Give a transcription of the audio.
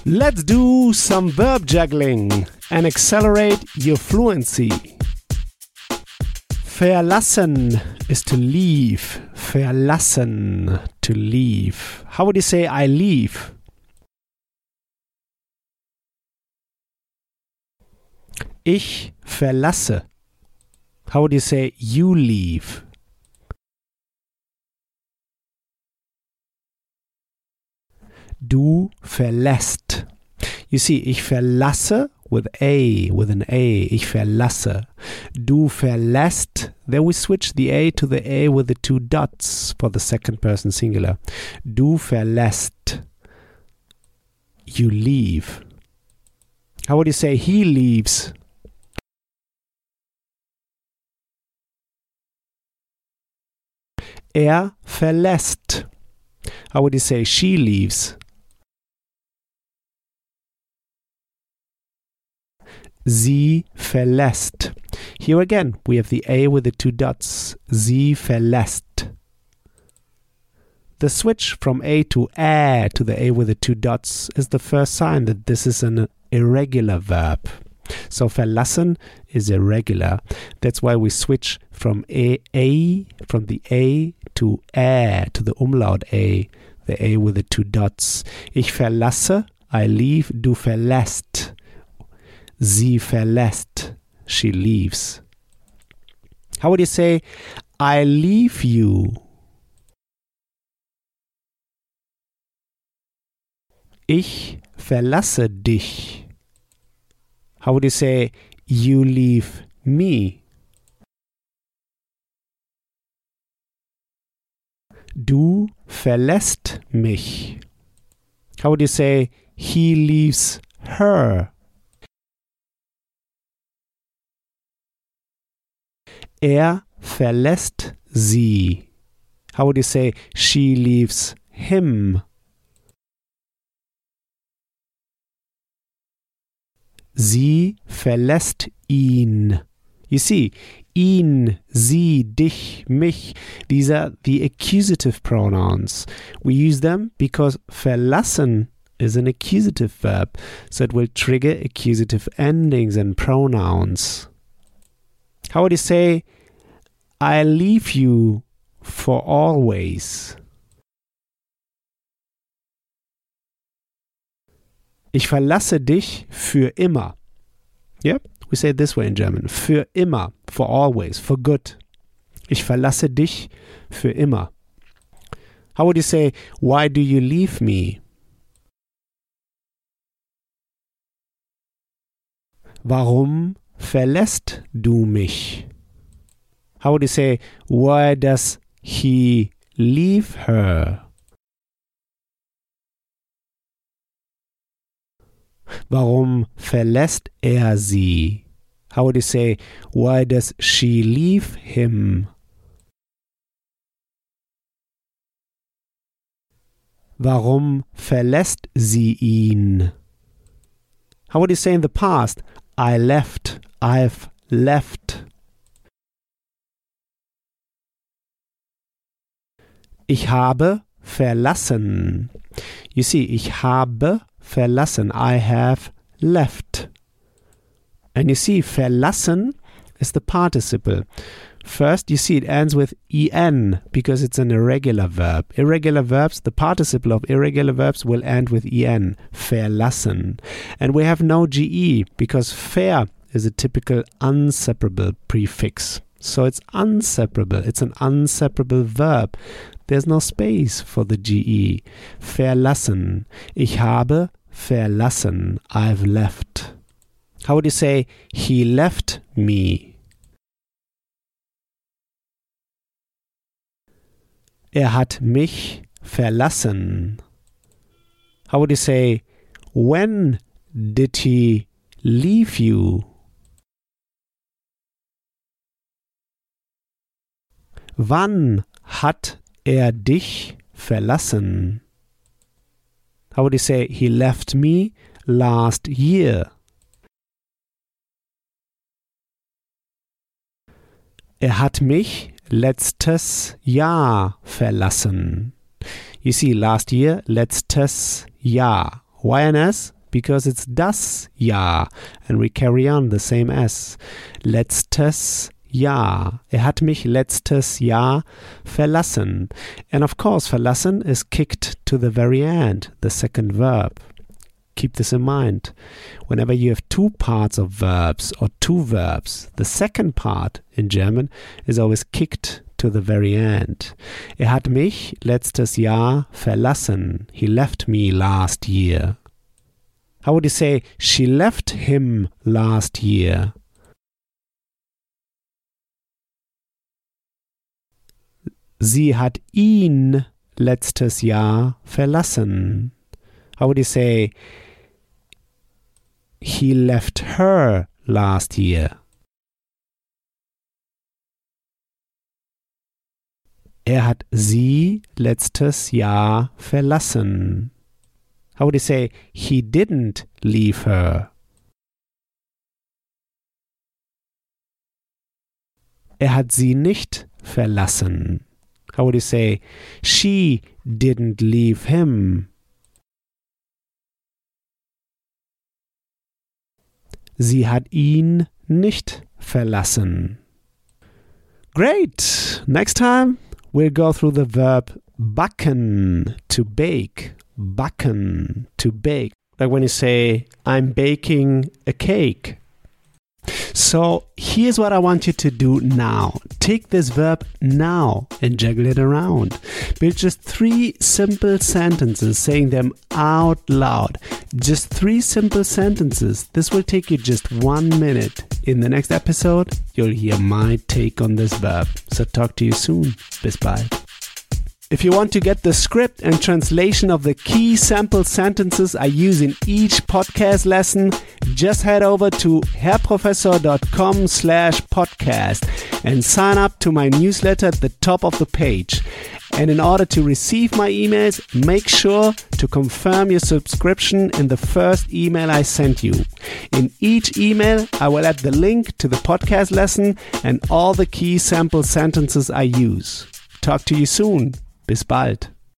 Let's do some verb juggling and accelerate your fluency. Verlassen is to leave. Verlassen, to leave. How would you say I leave? Ich verlasse. How would you say you leave? Du verlässt. You see, ich verlasse with an A. Ich verlasse. Du verlässt. Then we switch the A to the A with the two dots for the second person singular. Du verlässt. You leave. How would you say he leaves? Er verlässt. How would you say she leaves? Sie verlässt. Here again, we have the A with the two dots. Sie verlässt. The switch from A to Ä to the A with the two dots is the first sign that this is an irregular verb. So verlassen is irregular. That's why we switch from the A to Ä, to the umlaut A, the A with the two dots. Ich verlasse, I leave. Du verlässt. Sie verlässt. She leaves. How would you say, I leave you? Ich verlasse dich. How would you say, you leave me? Du verlässt mich. How would you say, he leaves her? Er verlässt sie. How would you say, she leaves him? Sie verlässt ihn. You see, ihn, sie, dich, mich, these are the accusative pronouns. We use them because verlassen is an accusative verb, so it will trigger accusative endings and pronouns. How would you say, I leave you for always? Ich verlasse dich für immer. Yep, we say it this way in German. Für immer, for always, for good. Ich verlasse dich für immer. How would you say, why do you leave me? Warum verlässt du mich? How would you say, why does he leave her? Warum verlässt er sie? How would you say, why does she leave him? Warum verlässt sie ihn? How would you say in the past, I left, I've left? Ich habe verlassen. You see, ich habe verlassen. I have left. And you see, verlassen is the participle. First, you see it ends with en because it's an irregular verb. Irregular verbs, the participle of irregular verbs will end with en. Verlassen. And we have no ge because ver is a typical unseparable prefix. So it's unseparable. It's an unseparable verb. There's no space for the ge. Verlassen. Ich habe verlassen. I've left. How would you say, he left me? Er hat mich verlassen. How would you say, when did he leave you? Wann hat er dich verlassen? How would you say, he left me last year? Er hat mich letztes Jahr verlassen. You see, last year, letztes Jahr. YNS, because it's das Jahr and we carry on the same S. Letztes Jahr. Hat mich letztes Jahr verlassen. And of course, verlassen is kicked to the very end, the second verb. Keep this in mind. Whenever you have two parts of verbs or two verbs, the second part in German is always kicked to the very end. Hat mich letztes Jahr verlassen. He left me last year. How would you say, she left him last year? Sie hat ihn letztes Jahr verlassen. How would you say, he left her last year? Hat sie letztes Jahr verlassen. How would you say, he didn't leave her? Hat sie nicht verlassen. How would you say, she didn't leave him? Sie hat ihn nicht verlassen. Great! Next time we'll go through the verb backen, to bake. Backen, to bake. Like when you say, I'm baking a cake. So here's what I want you to do now. Take this verb now and juggle it around. Build just 3 simple sentences, saying them out loud. Just 3 simple sentences. This will take you just 1 minute. In the next episode, you'll hear my take on this verb. So talk to you soon. Bis bald. If you want to get the script and translation of the key sample sentences I use in each podcast lesson, just head over to herrprofessor.com/podcast and sign up to my newsletter at the top of the page. And in order to receive my emails, make sure to confirm your subscription in the first email I sent you. In each email, I will add the link to the podcast lesson and all the key sample sentences I use. Talk to you soon. Bis bald.